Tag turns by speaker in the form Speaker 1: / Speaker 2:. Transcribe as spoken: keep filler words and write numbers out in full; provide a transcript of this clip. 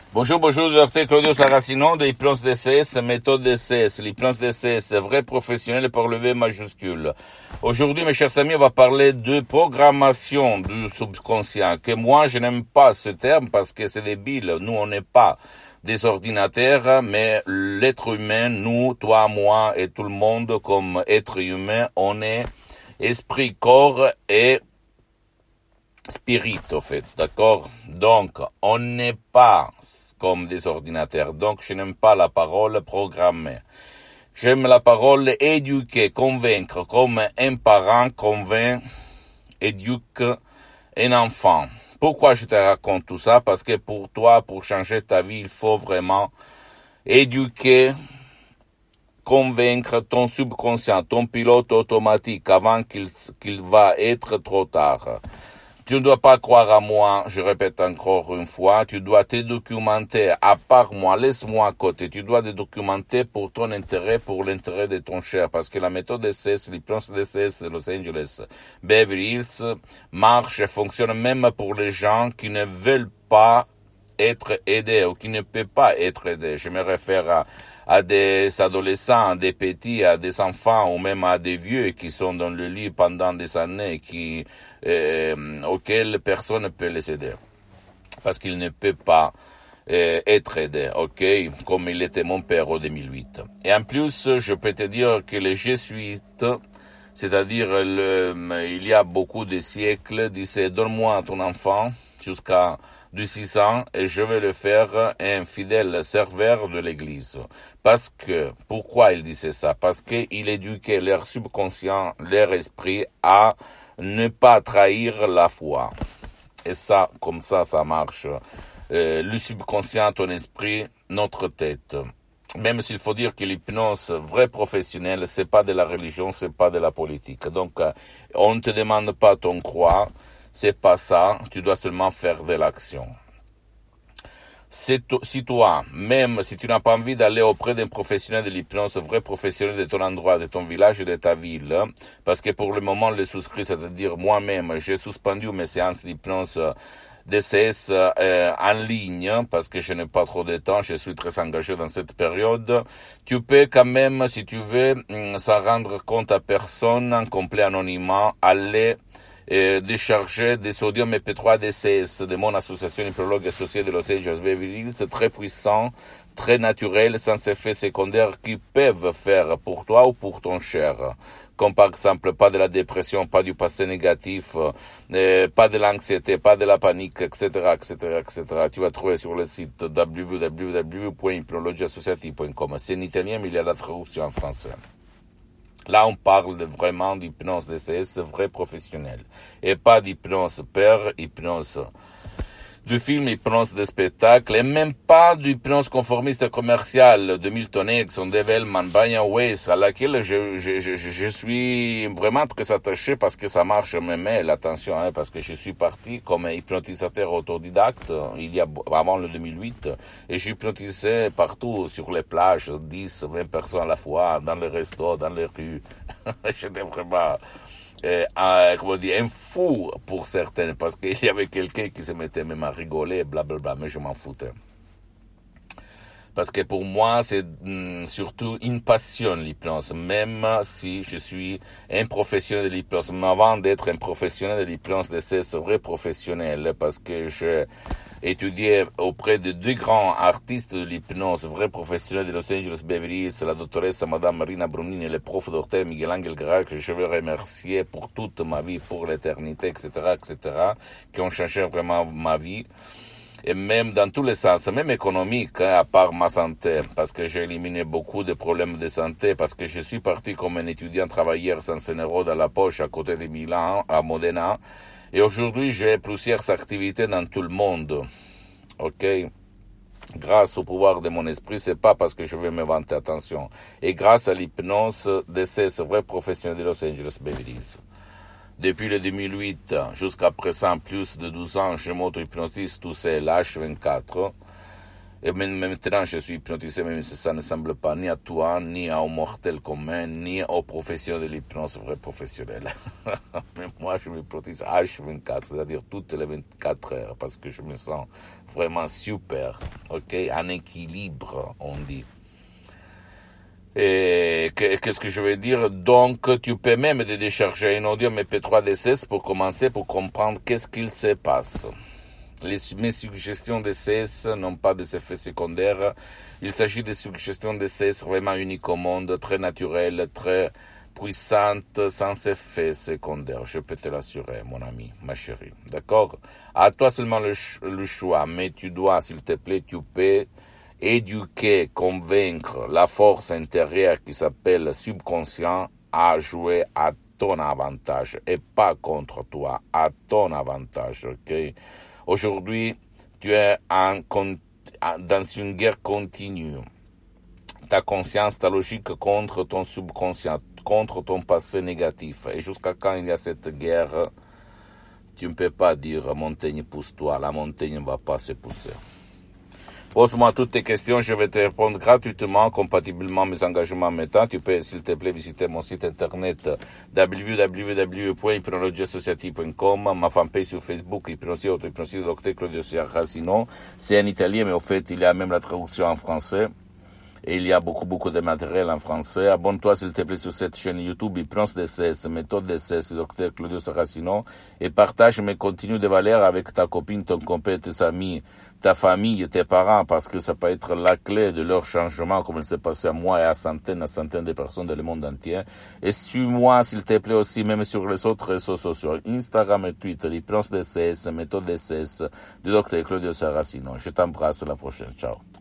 Speaker 1: Bonjour, bonjour, docteur Claudio Saracino de l'hypnose D C S, méthode D C S. L'hypnose D C S, vrai professionnel par le V majuscule. Aujourd'hui, mes chers amis, on va parler de programmation du subconscient, que moi, je n'aime pas ce terme parce que c'est débile. Nous, on n'est pas des ordinateurs, mais l'être humain, nous, toi, moi et tout le monde, comme être humain, on est esprit, corps et spirit, au fait, d'accord? Donc, on n'est pas comme des ordinateurs. Donc, je n'aime pas la parole programmer. J'aime la parole éduquer, convaincre, comme un parent convainc, éduque un enfant. Pourquoi je te raconte tout ça? Parce que pour toi, pour changer ta vie, il faut vraiment éduquer, convaincre ton subconscient, ton pilote automatique avant qu'il, qu'il va être trop tard. Tu ne dois pas croire à moi, je répète encore une fois, tu dois te documenter à part moi, laisse-moi à côté, tu dois te documenter pour ton intérêt, pour l'intérêt de ton cher, parce que la méthode D C S, l'hypnose D C S de Los Angeles, Beverly Hills, marche et fonctionne même pour les gens qui ne veulent pas être aidés ou qui ne peuvent pas être aidés. Je me réfère à à des adolescents, à des petits, à des enfants ou même à des vieux qui sont dans le lit pendant des années, qui euh, auxquels personne ne peut les aider parce qu'ils ne peuvent pas euh, être aidés, ok, comme il était mon père en deux mille huit. Et en plus, je peux te dire que les jésuites, c'est-à-dire le, il y a beaucoup de siècles, disaient donne-moi ton enfant jusqu'à du six ans et je vais le faire un fidèle serveur de l'église. Parce que, pourquoi il disait ça? Parce qu'il éduquait leur subconscient, leur esprit à ne pas trahir la foi. Et ça, comme ça, ça marche. Euh, le subconscient, ton esprit, notre tête. Même s'il faut dire que l'hypnose vraie professionnelle, c'est pas de la religion, c'est pas de la politique. Donc, euh, on ne te demande pas ton croix. C'est pas ça, tu dois seulement faire de l'action. Si toi, même si tu n'as pas envie d'aller auprès d'un professionnel de l'hypnose, vrai professionnel de ton endroit, de ton village et de ta ville, parce que pour le moment, les souscrits, c'est-à-dire moi-même, j'ai suspendu mes séances d'hypnose D C S euh, en ligne, parce que je n'ai pas trop de temps, je suis très engagé dans cette période. Tu peux quand même, si tu veux, sans rendre compte à personne, en complet anonymat, aller Euh, décharger des sodium M P trois D C S de mon association hypnologue associée de Los Angeles Beverly Hills, c'est très puissant, très naturel, sans effets secondaires qui peuvent faire pour toi ou pour ton cher. Comme par exemple, pas de la dépression, pas du passé négatif, euh, pas de l'anxiété, pas de la panique, et cetera, et cetera, et cetera. Tu vas trouver sur le site w w w point hypnologie associative point com. C'est en italien, mais il y a la traduction en français. Là, on parle de vraiment d'hypnose D C S vrai professionnel. Et pas d'hypnose père, hypnose du film, hypnose de spectacle, et même pas d'hypnose conformiste commerciale de Milton Erickson, Dave Hellman, Brian Weiss, à laquelle je, je, je, je suis vraiment très attaché parce que ça marche même, attention, hein, parce que je suis parti comme hypnotisateur autodidacte il y a, avant le deux mille huit, et j'hypnotisais partout sur les plages, dix, vingt personnes à la fois, dans les restos, dans les rues. J'étais vraiment... Euh, un, comment dire, un fou pour certains, parce qu'il y avait quelqu'un qui se mettait même à rigoler, blablabla, mais je m'en foutais. Parce que pour moi, c'est mm, surtout une passion, l'hypnose, même si je suis un professionnel de l'hypnose. Mais avant d'être un professionnel de l'hypnose, c'est vrai professionnel, parce que je étudié auprès de deux grands artistes de l'hypnose, vrais professionnels de Los Angeles Beverly Hills, la doctoresse Madame Marina Brunini et le prof docteur Miguel Angel Guerra, que je veux remercier pour toute ma vie, pour l'éternité, et cetera, et cetera, qui ont changé vraiment ma vie. Et même dans tous les sens, même économique, hein, à part ma santé, parce que j'ai éliminé beaucoup de problèmes de santé, parce que je suis parti comme un étudiant travailleur sans un euro dans la poche à côté de Milan, à Modena, et aujourd'hui j'ai plusieurs activités dans tout le monde, ok? Grâce au pouvoir de mon esprit, c'est pas parce que je veux me vanter, attention, et grâce à l'hypnose de ces vrais professionnels de Los Angeles Beverly Hills. Depuis le deux mille huit jusqu'à présent, plus de douze ans, je m'auto-hypnotise tout seul, H vingt-quatre. Et maintenant, je suis hypnotisé, même si ça ne semble pas ni à toi, ni à un mortel commun, ni aux professionnels de l'hypnose, vrais professionnels. Mais moi, je m'hypnotise H vingt-quatre, c'est-à-dire toutes les vingt-quatre heures, parce que je me sens vraiment super, ok, en équilibre, on dit. Et qu'est-ce que je veux dire? Donc, tu peux même te décharger un audio M P trois D S S pour commencer, pour comprendre qu'est-ce qu'il se passe. Les, mes suggestions de C S n'ont pas d'effets secondaires. Il s'agit de suggestions de C S vraiment uniques au monde, très naturelles, très puissantes, sans effets secondaires. Je peux te l'assurer, mon ami, ma chérie. D'accord? À toi seulement le, le choix, mais tu dois, s'il te plaît, tu peux éduquer, convaincre la force intérieure qui s'appelle subconscient à jouer à ton avantage et pas contre toi, à ton avantage, ok? Aujourd'hui, tu es en, dans une guerre continue. Ta conscience, ta logique contre ton subconscient, contre ton passé négatif. Et jusqu'à quand il y a cette guerre, tu ne peux pas dire montagne pousse-toi, la montagne ne va pas se pousser. Pose-moi toutes tes questions, je vais te répondre gratuitement, compatiblement à mes engagements maintenant. Tu peux, s'il te plaît, visiter mon site internet w w w point hypnologie associative point com, ma fanpage sur Facebook, Hypnosie Auto-Hypnosie, docteur Claudio Saracino. C'est en italien, mais au fait, il y a même la traduction en français. Et il y a beaucoup, beaucoup de matériel en français. Abonne-toi, s'il te plaît, sur cette chaîne YouTube, Hypnose D S S, méthode D S S, docteur Claudio Saracino, et partage mes contenus de valeur avec ta copine, ton compère, tes amis, ta famille, tes parents, parce que ça peut être la clé de leur changement, comme il s'est passé à moi et à centaines, à centaines de personnes dans le monde entier. Et suis-moi, s'il te plaît, aussi, même sur les autres réseaux sociaux, Instagram et Twitter, Hypnose D S S, méthode D S S, du docteur Claudio Saracino. Je t'embrasse, à la prochaine. Ciao.